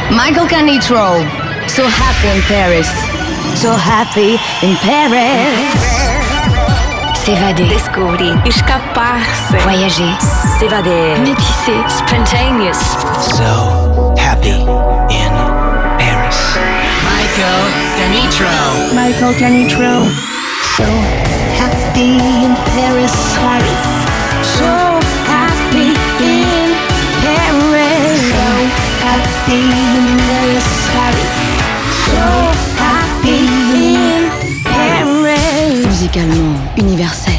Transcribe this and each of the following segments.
Michael Canitrot, So Happy in Paris. So Happy in Paris. S'évader. Descobrir. Escapar-se. Voyager. S'évader. Métisser. Spontaneous. So happy in Paris. Michael Canitrot. Michael Canitrot. So happy in Paris. Paris. So happy in Paris. So happy in Paris. Paris. So happy in Paris. Musicalement universel.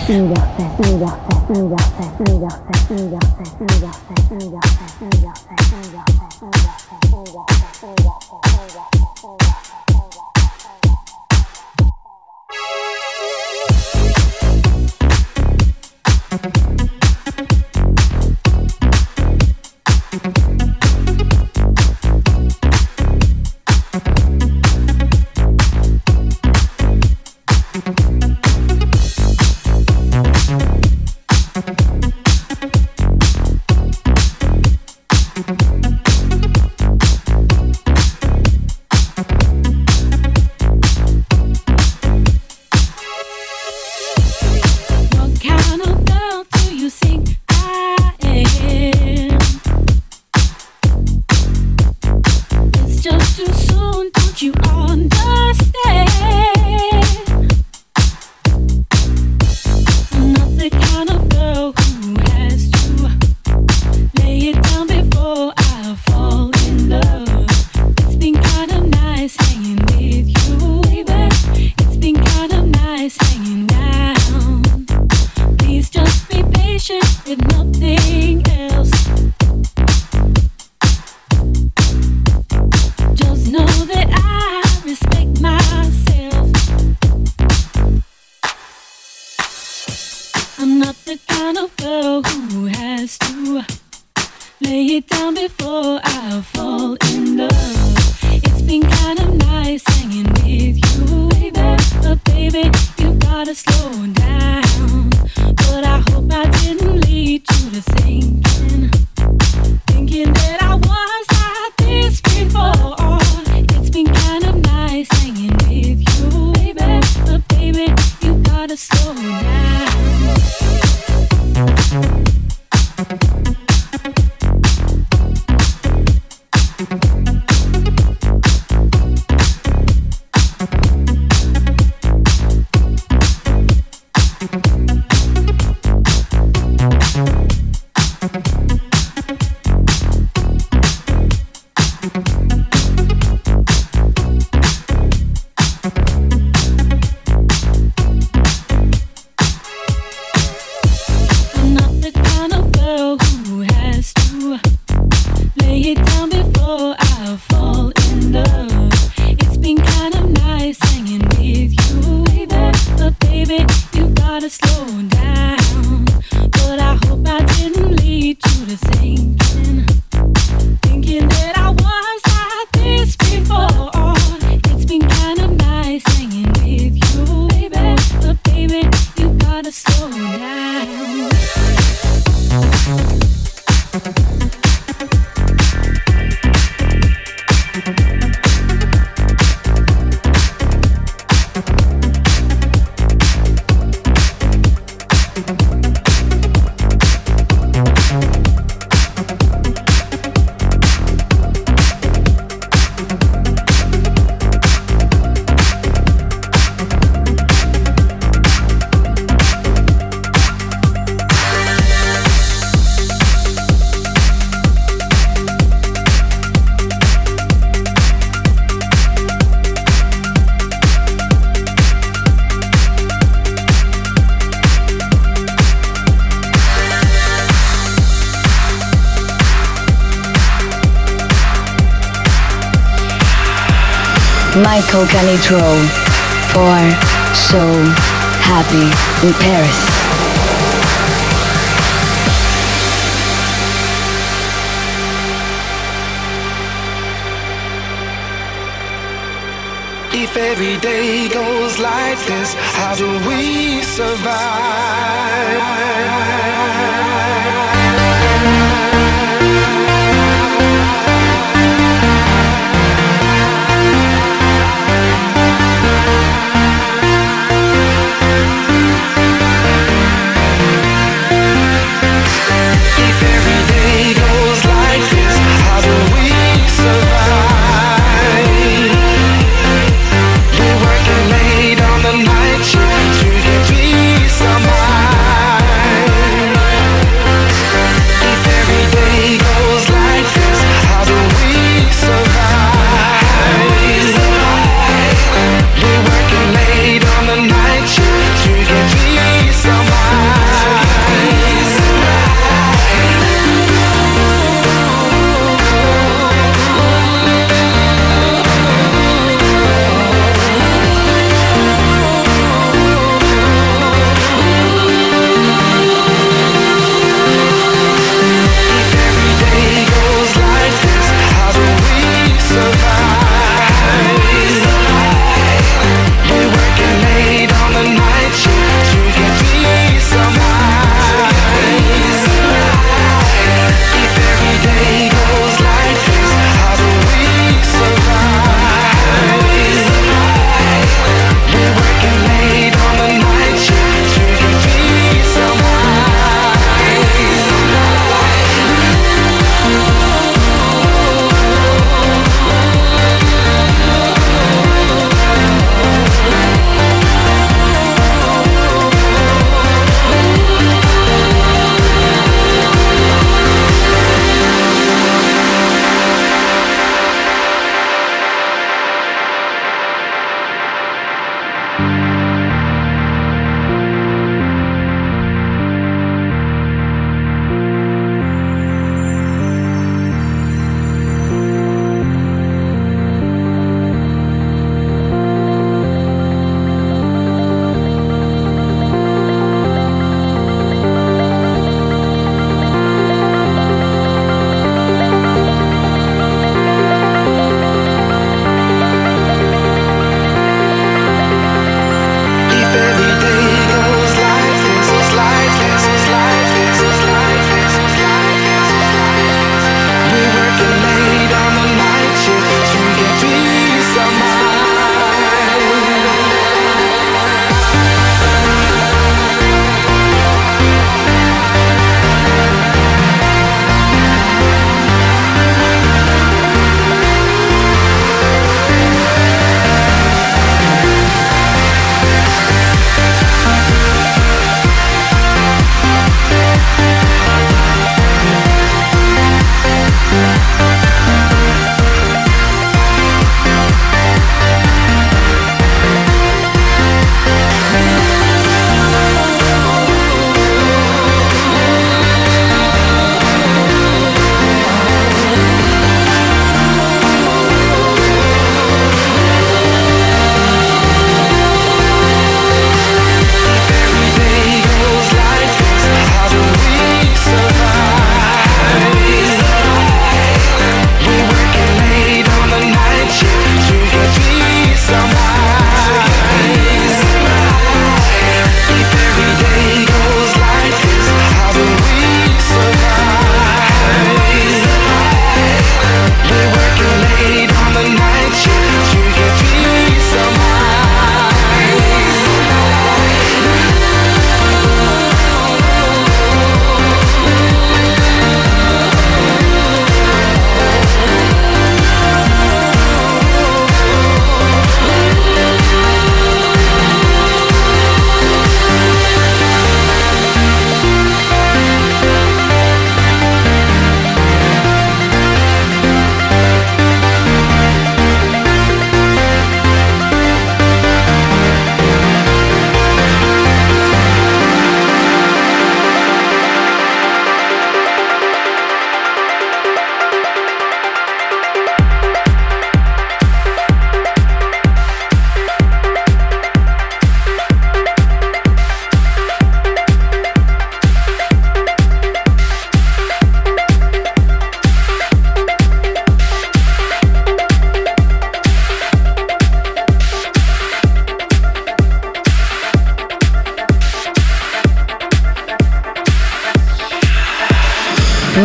Michael Canitrot for So Happy in Paris. If every day goes like this, how do we survive?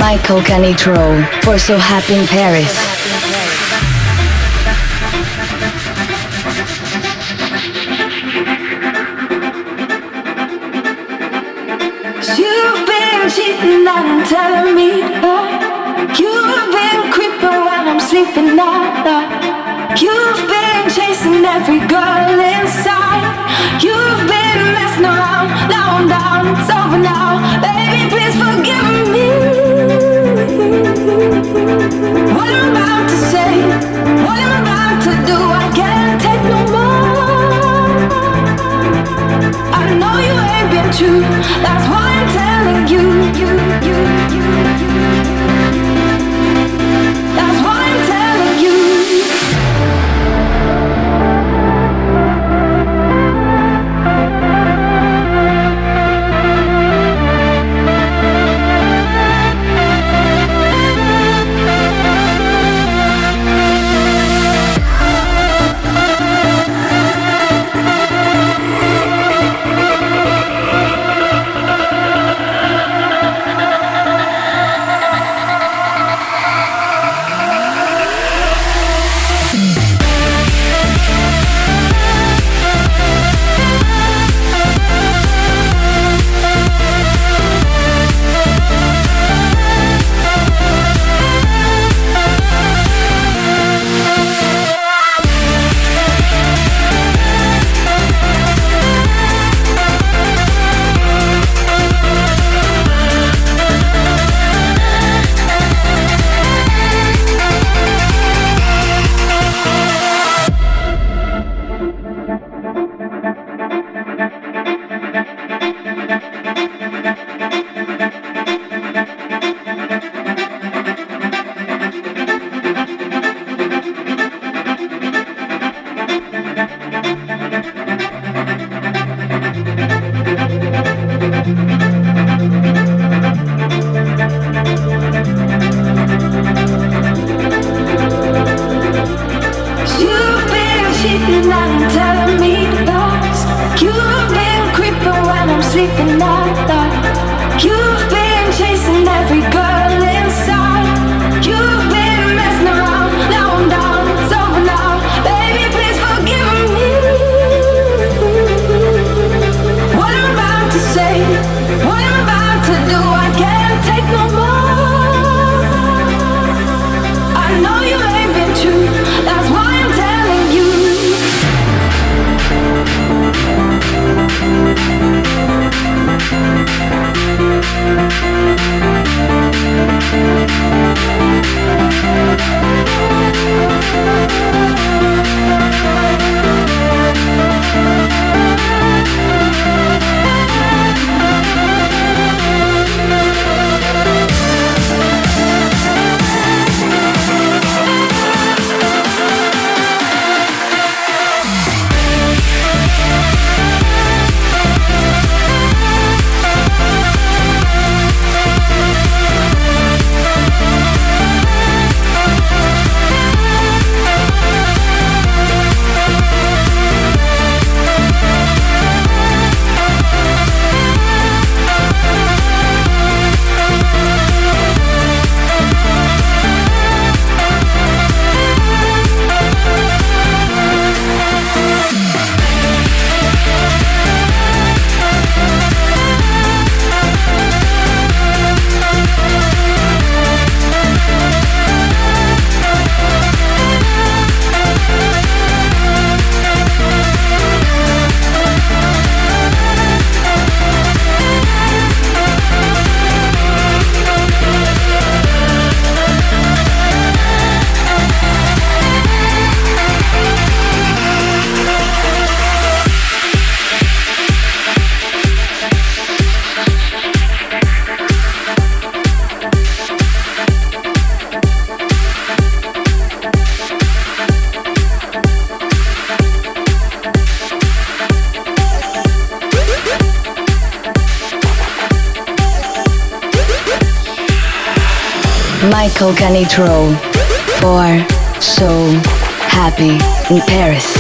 Michael Canitrot for So Happy in Paris. You've been cheating and telling me you've been creeping when I'm sleeping now. You've been chasing every girl inside. You've been messing around. Now I'm down, it's over now. Baby, please forgive me. What I'm about to say, what I'm about to do, I can't take no more. I know you ain't been true. That's why I'm telling you. That's why I'm telling you. Michael Canitrot for So Happy in Paris.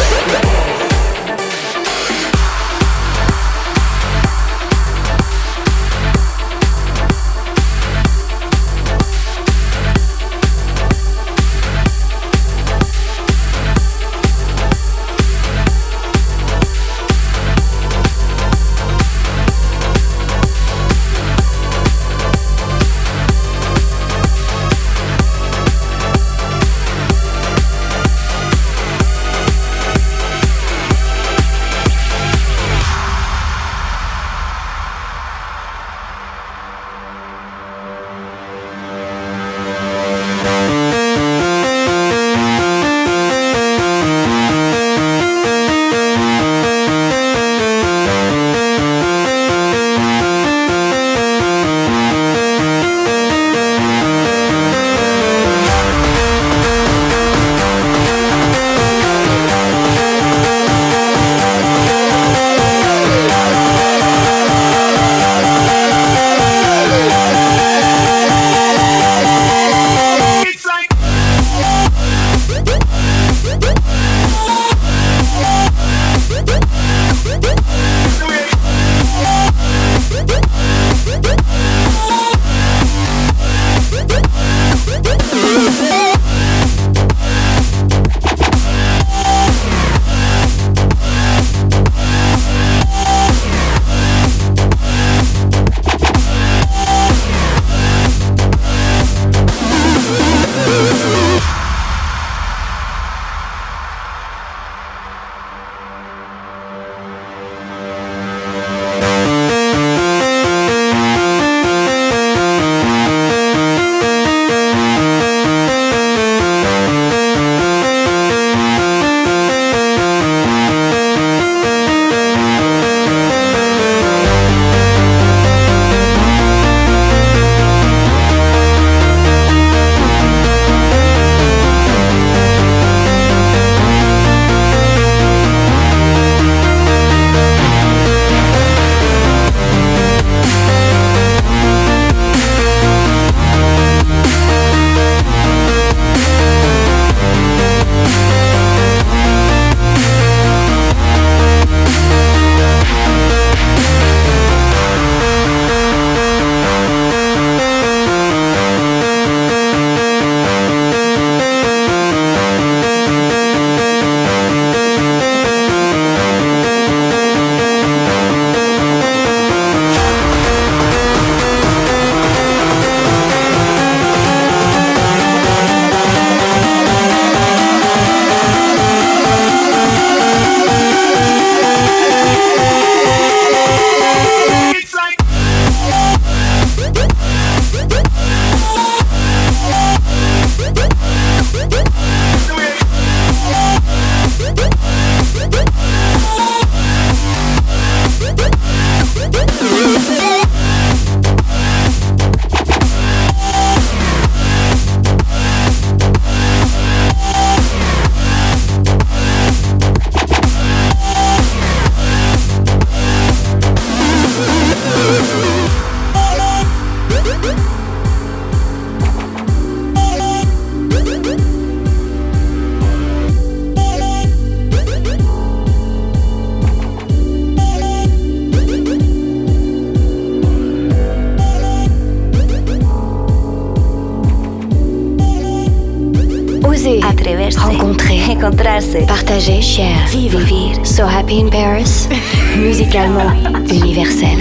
Oser, atreverse, rencontrer, encontrarse, partager, share, vivre. So Happy in Paris, musicalement universel.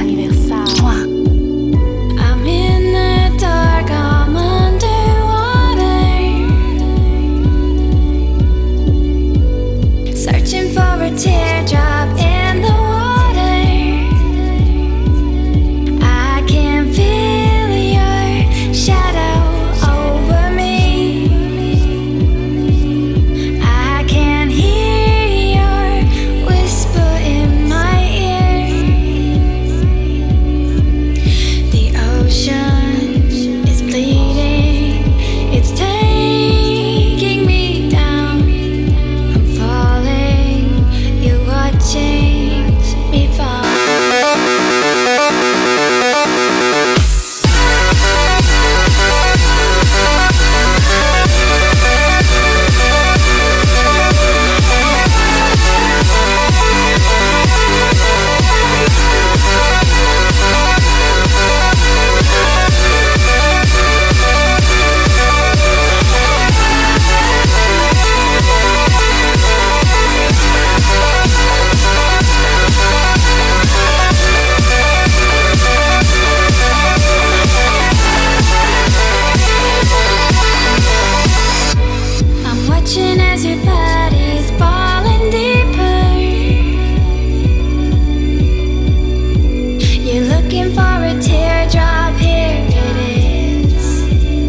I'm in the dark, I'm underwater, searching for a teardrop in the water. I can feel your shadow over me. I can hear your whisper in my ear. The ocean is bleeding, it's taking me down. I'm falling, you're watching me fall. I'm watching as your body's falling deeper. You're looking for a teardrop, here it is.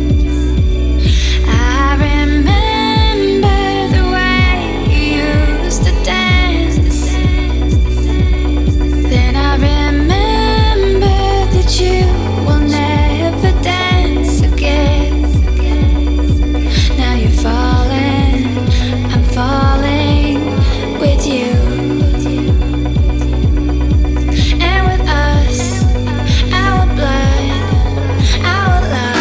I remember the way you used to dance. Then I remember that you will never dance again. Now you're falling, I'm falling with you. And with us, our blood, our love.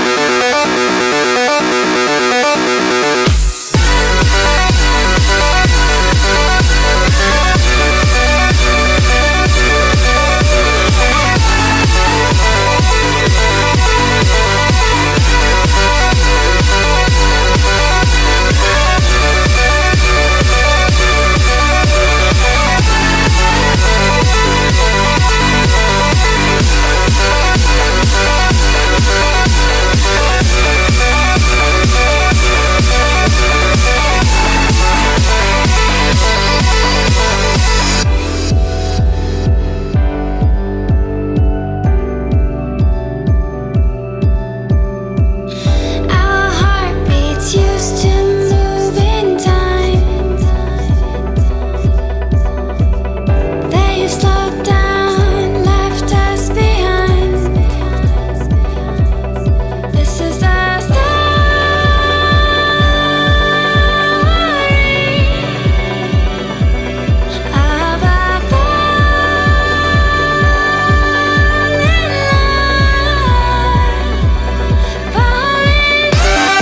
Our heartbeats used to move in time. They slowed down, left us behind. This is the story of our falling love, falling.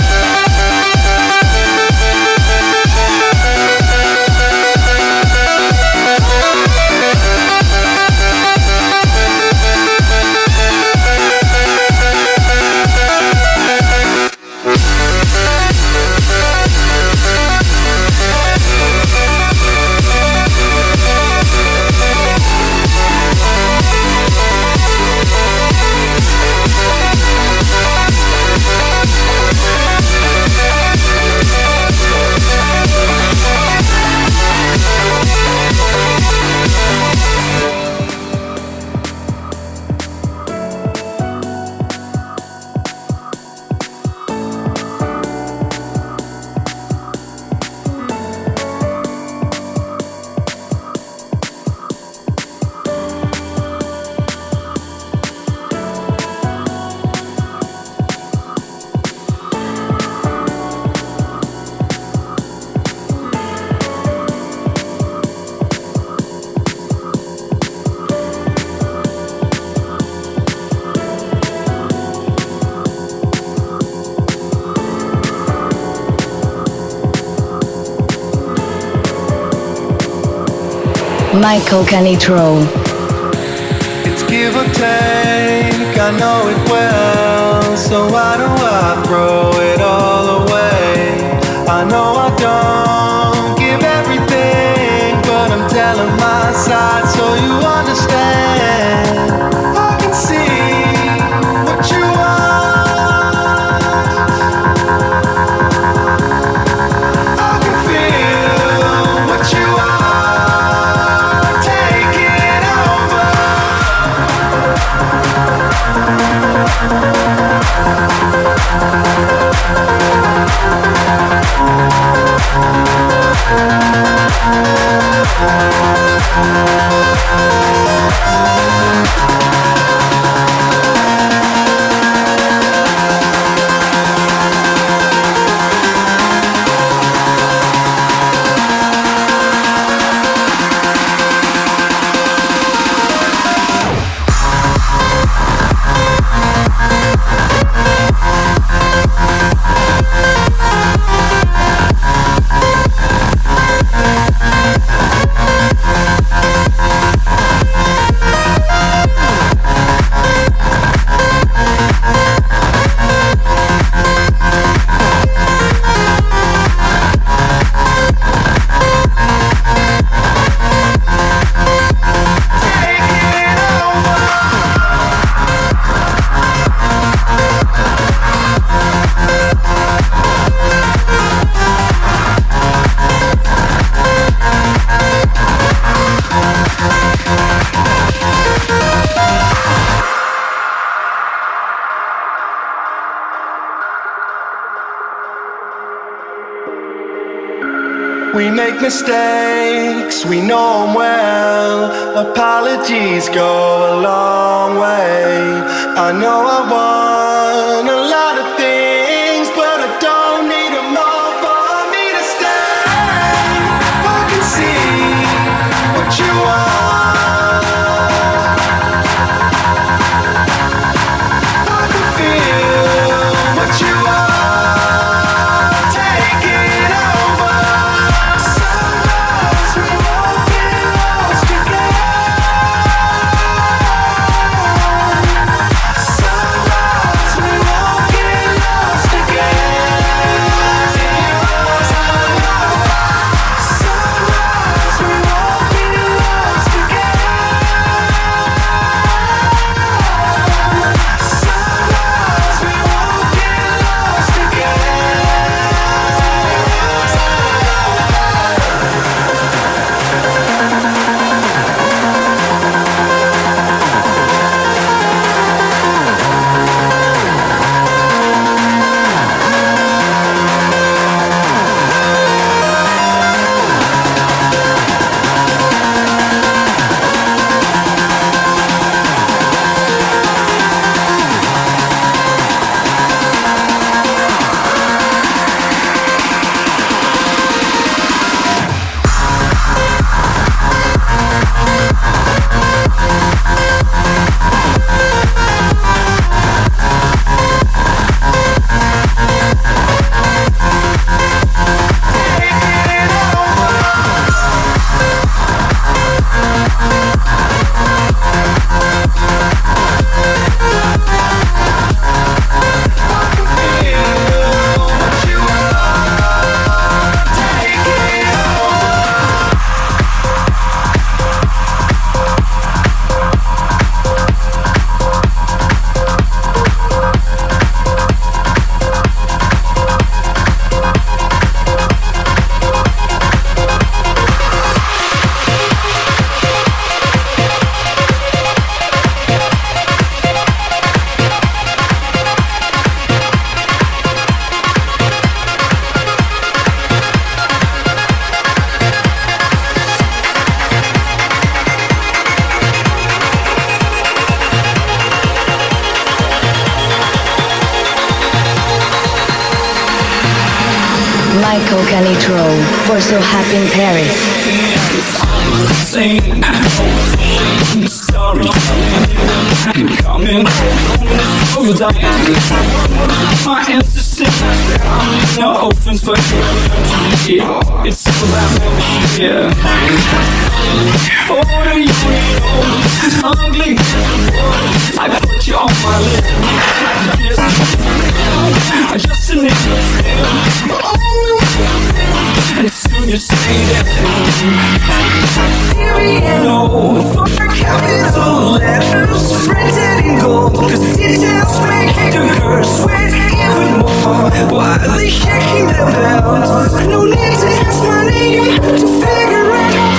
Michael Canitrot. It's give or take, I know it well. So why do I throw it all away? I know We make mistakes, we know them well. Apologies go a long way. I know I want a lot of things, but I don't need them all for me to stay. I can see what you want. I can feel what you want. Take it over. Sometimes we won't get lost together. Sometimes we won't get lost together. Sometimes we won't get lost together. Sometimes we won't get lost together. Michael Canitrot for So Happy in Paris. Sorry, coming over the my answer no offense, but it's about yeah. Oh, you ugly. I put you on my list. Yes, I just need and soon you say that no, fuck capital letters printed in gold, cause details make the curse sweat even more. Why are they shaking them down? No need to ask my name to figure it out.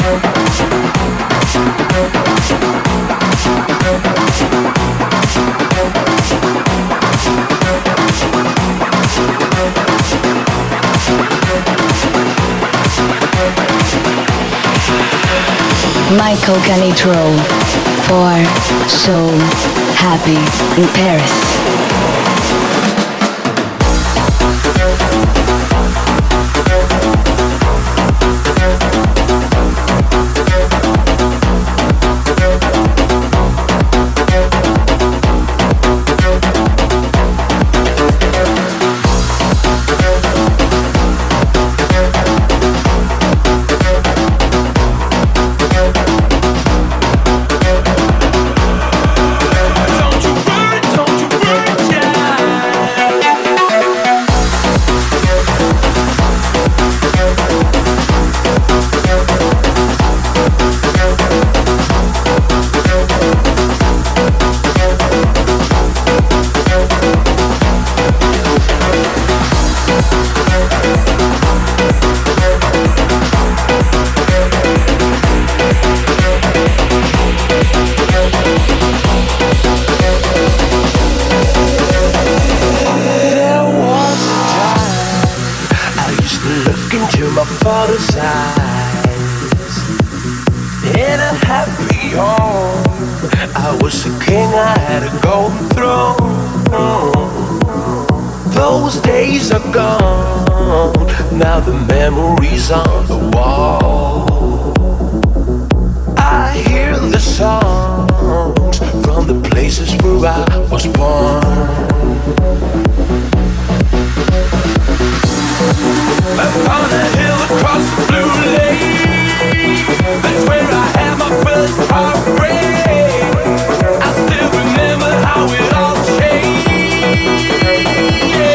Michael Canitrot for So Happy in Paris.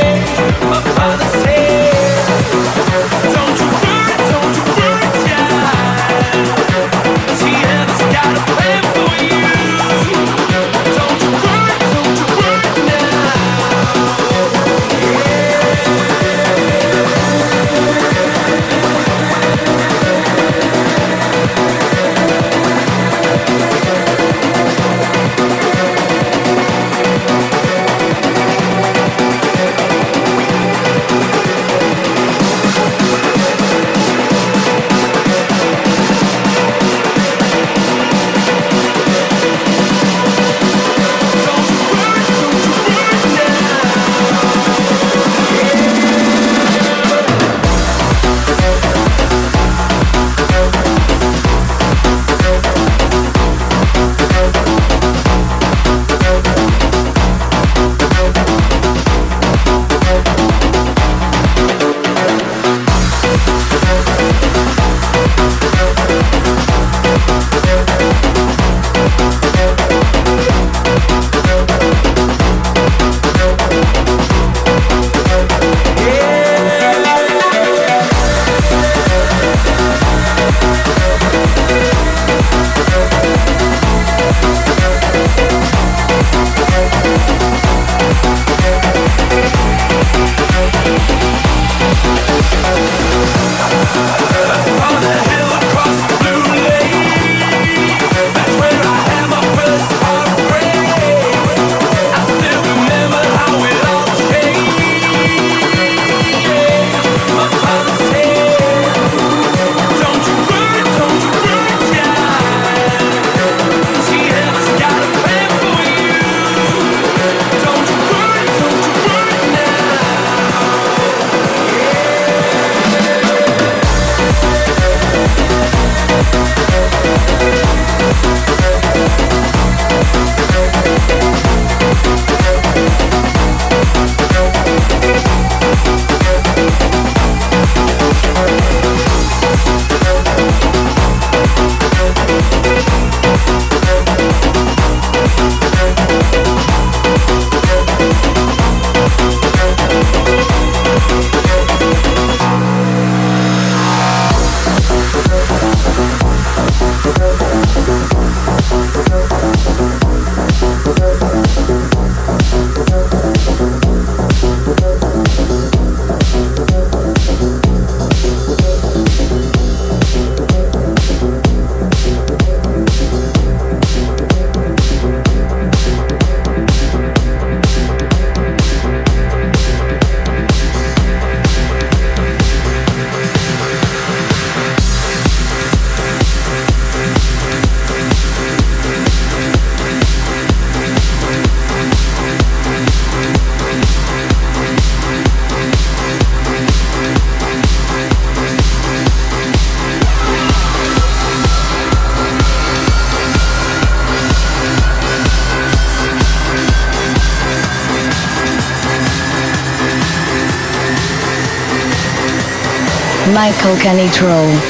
Don't you worry, Michael Canitrot.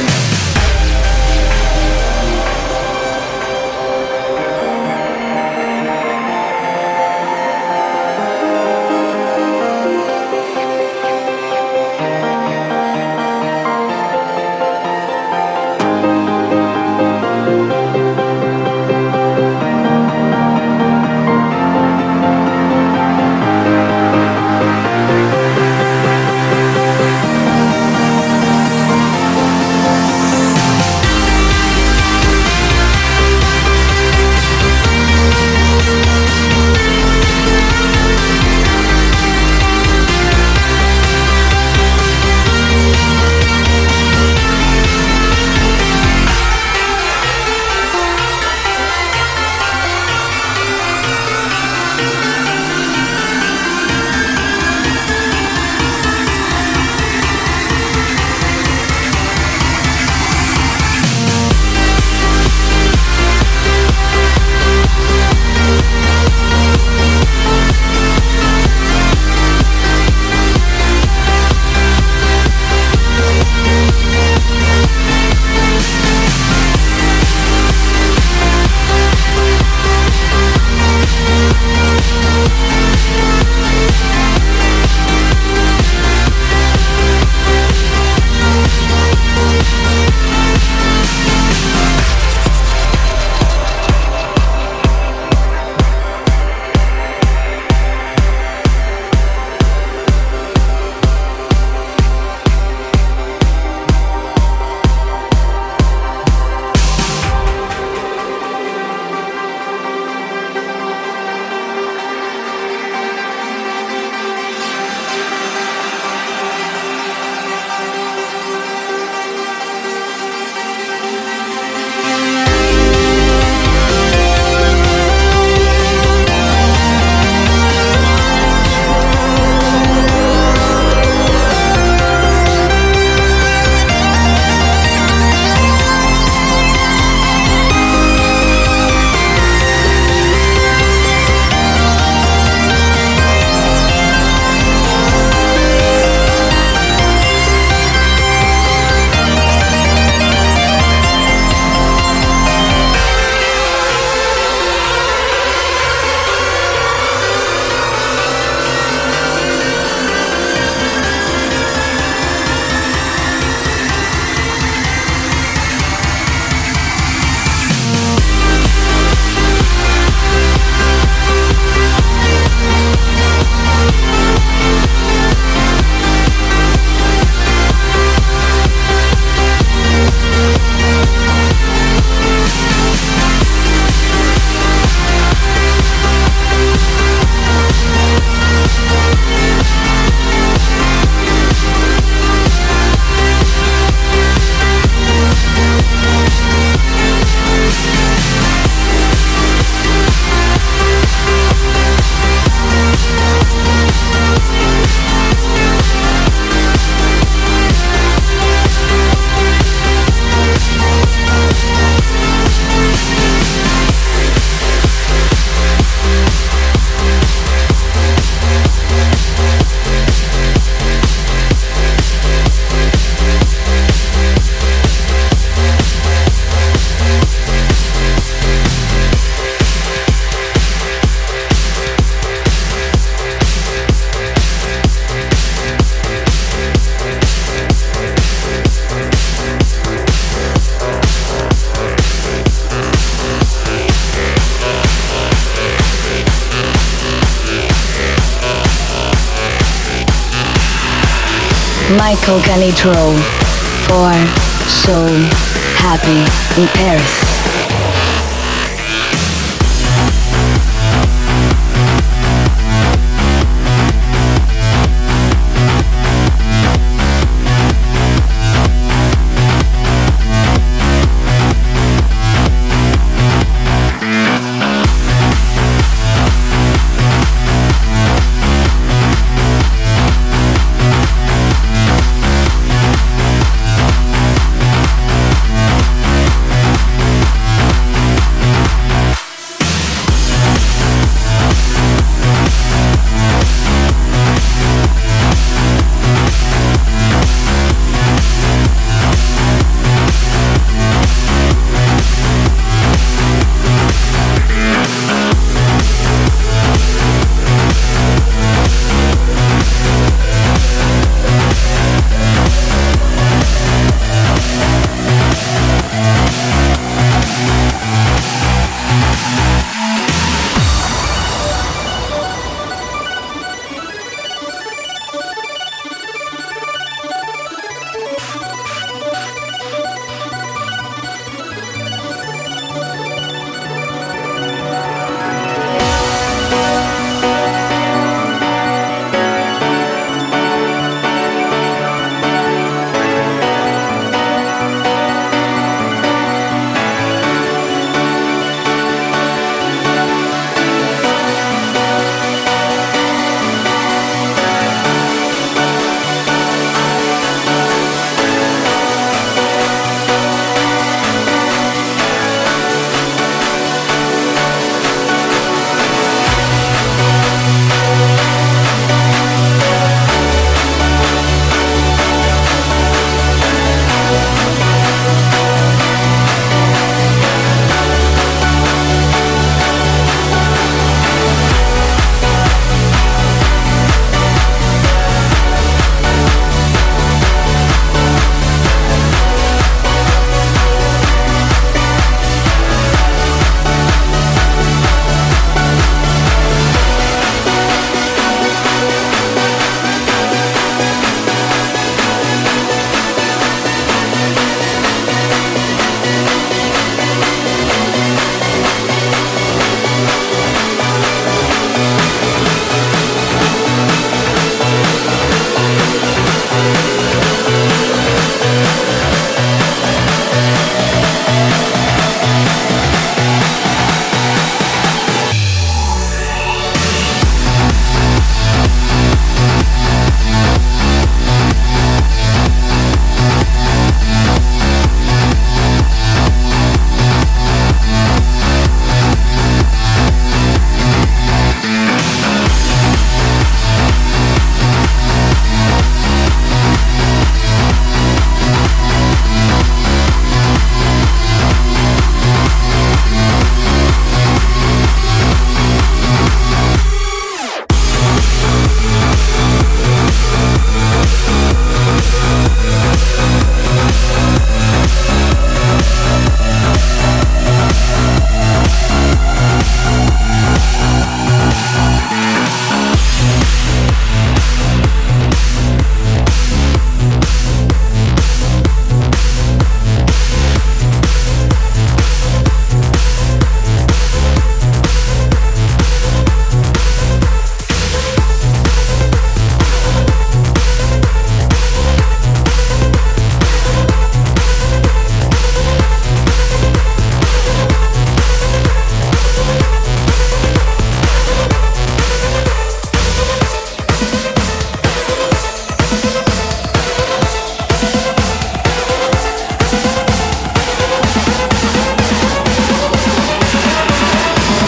Michael Canitrot for So Happy in Paris.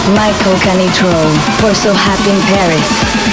Michael Canitrot for So Happy in Paris.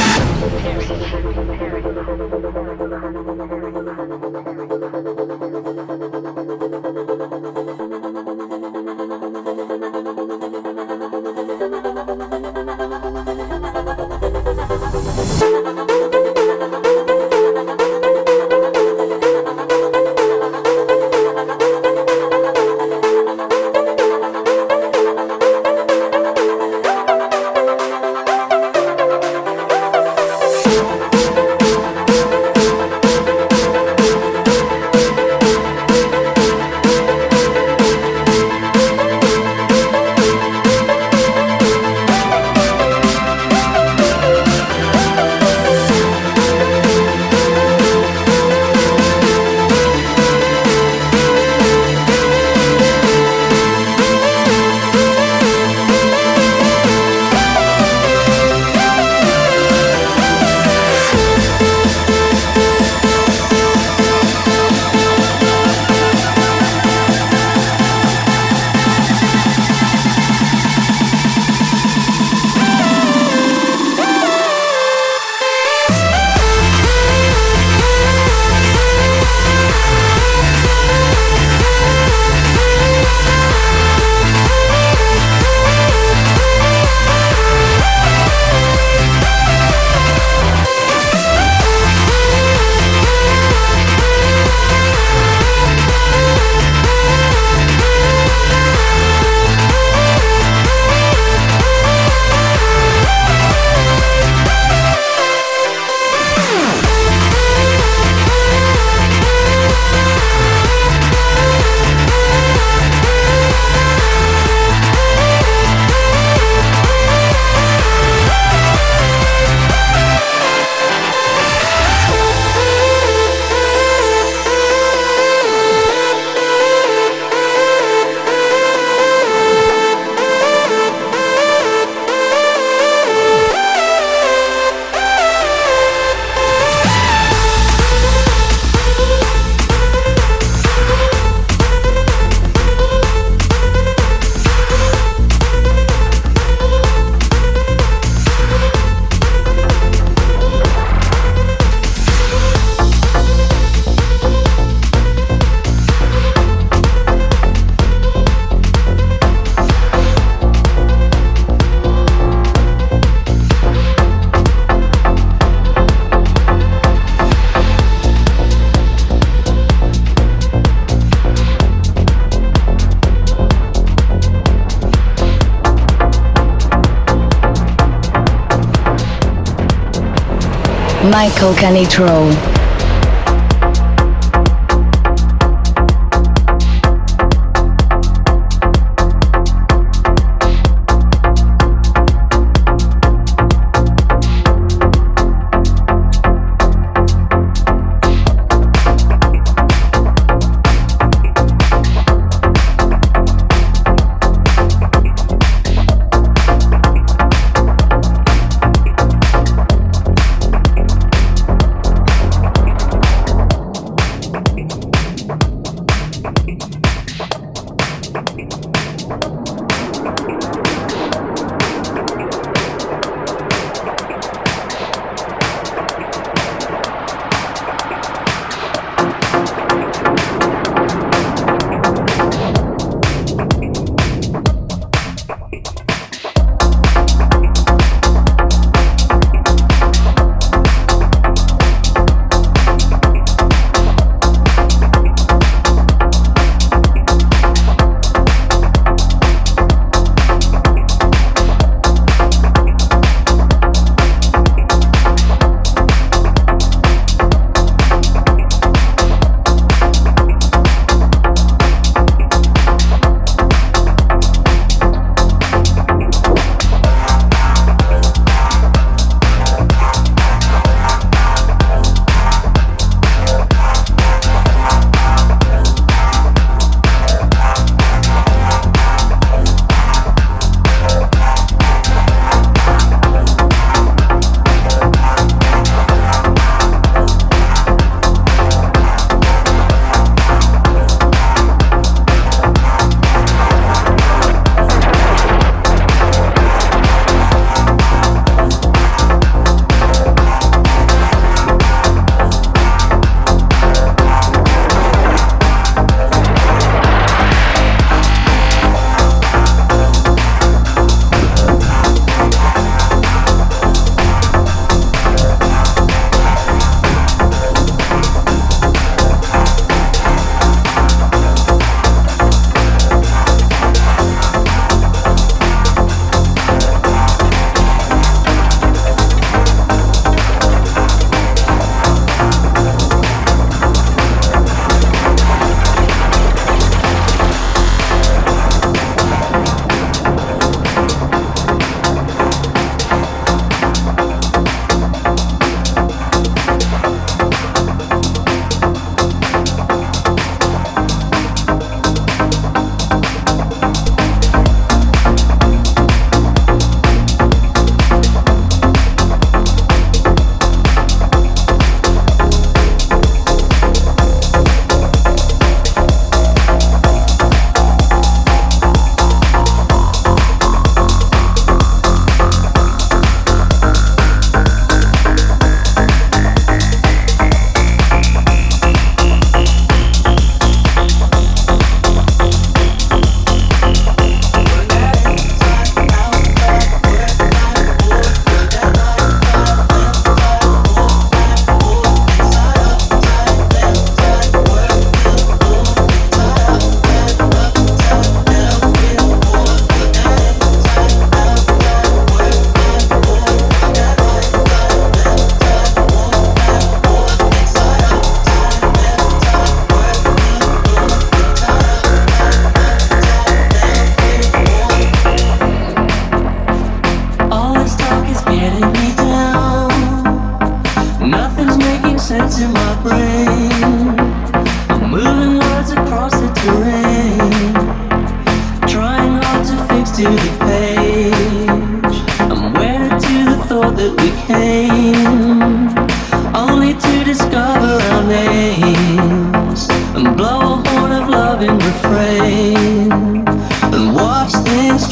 Michael Canitrot.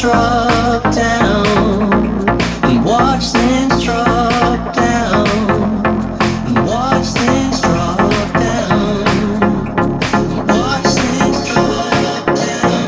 drop down and watch things drop down and watch things drop down and watch things drop down.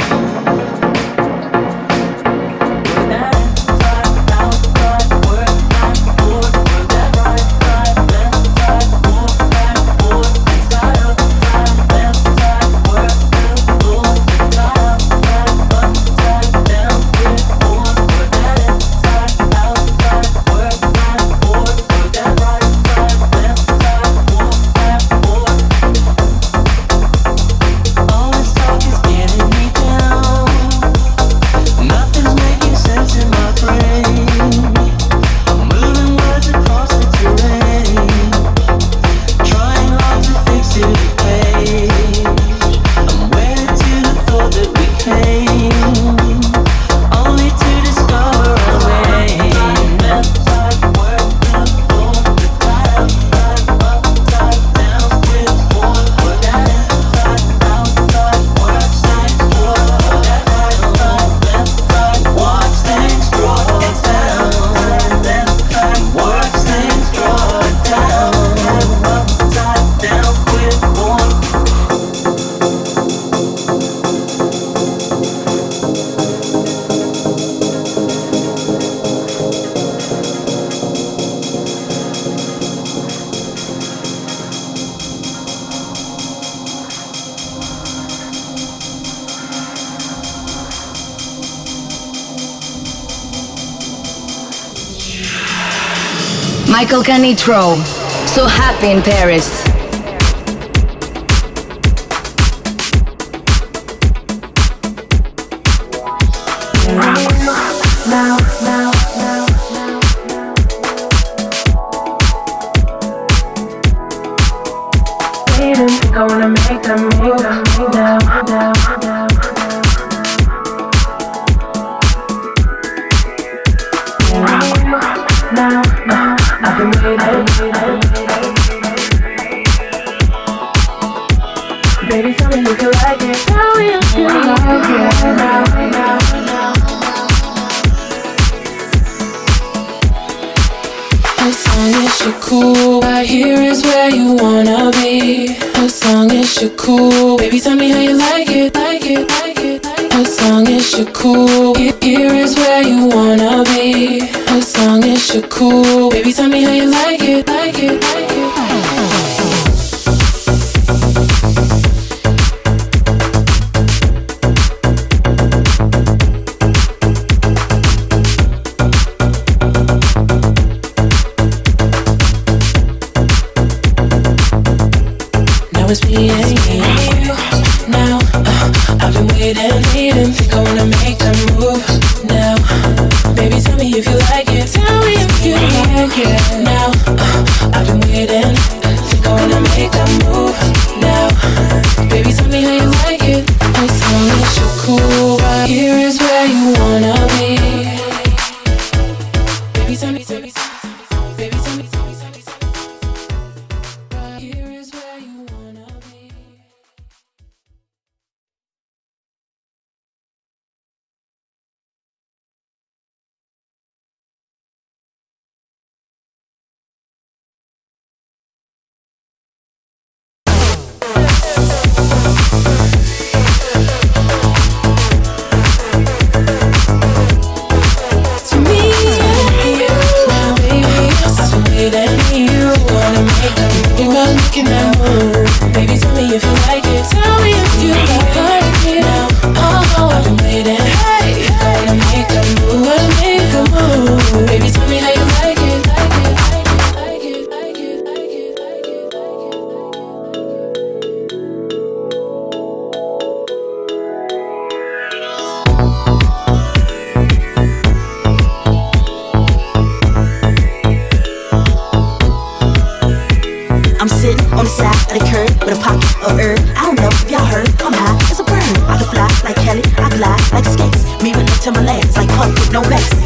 Work that right, out right, work that forward, work that right, left side, walk back, forward, side up, side, left side, work the floor, side up, side, upside down, get forward, work that inside, outside, work that forward, work that right side, left side, walk back, forward. All this talk is getting me down. Nothing's making sense in my brain. I'm moving words across the terrain, trying hard to fix to the page. I'm wedded to the thought that we came, only to discover our way. Left side, work the floor, side up, side, upside down, split forward, work that inside, outside, work things forward, work that right side, left side, watch things drop down, left side, watch things drop down, upside down, split forward. Michael Canitrot, So Happy in Paris. Gonna make a move now. I've been waiting. Baby, tell me if you like it. Tell me if you like it now. As long as you're cool, right here is where you wanna be. As long as you're cool, baby, tell me how you like it, like it, like it, like it. As long as you're cool, here is where you wanna be. As long as you're cool, baby, tell me how you like it, like it, like it, like it. It's me and you now. I've been waiting, think I wanna make a move now. Baby, tell me if you like it. Tell me if you like it now. I've been waiting, think I wanna make a move now. Baby, tell me how you like it. As long as you're cool, right here is where you wanna be. Baby, tell me, tell me, baby, tell me, tell me, tell me, tell me. Right here is where you wanna be. Making that move, baby, tell me if you like it. Tell me if you like it now. Oh, I've been waiting. Hey, gonna make a move, gonna make a move. Baby, tell me how you like it, like it, like it, like it, like it, like it, like I'm sitting on the side of the curb with a pocket of herb. I don't know if y'all heard, I'm high as a bird. I can fly like Kelly, I glide like skates. Me with no Timberlands, like Puff with no vest.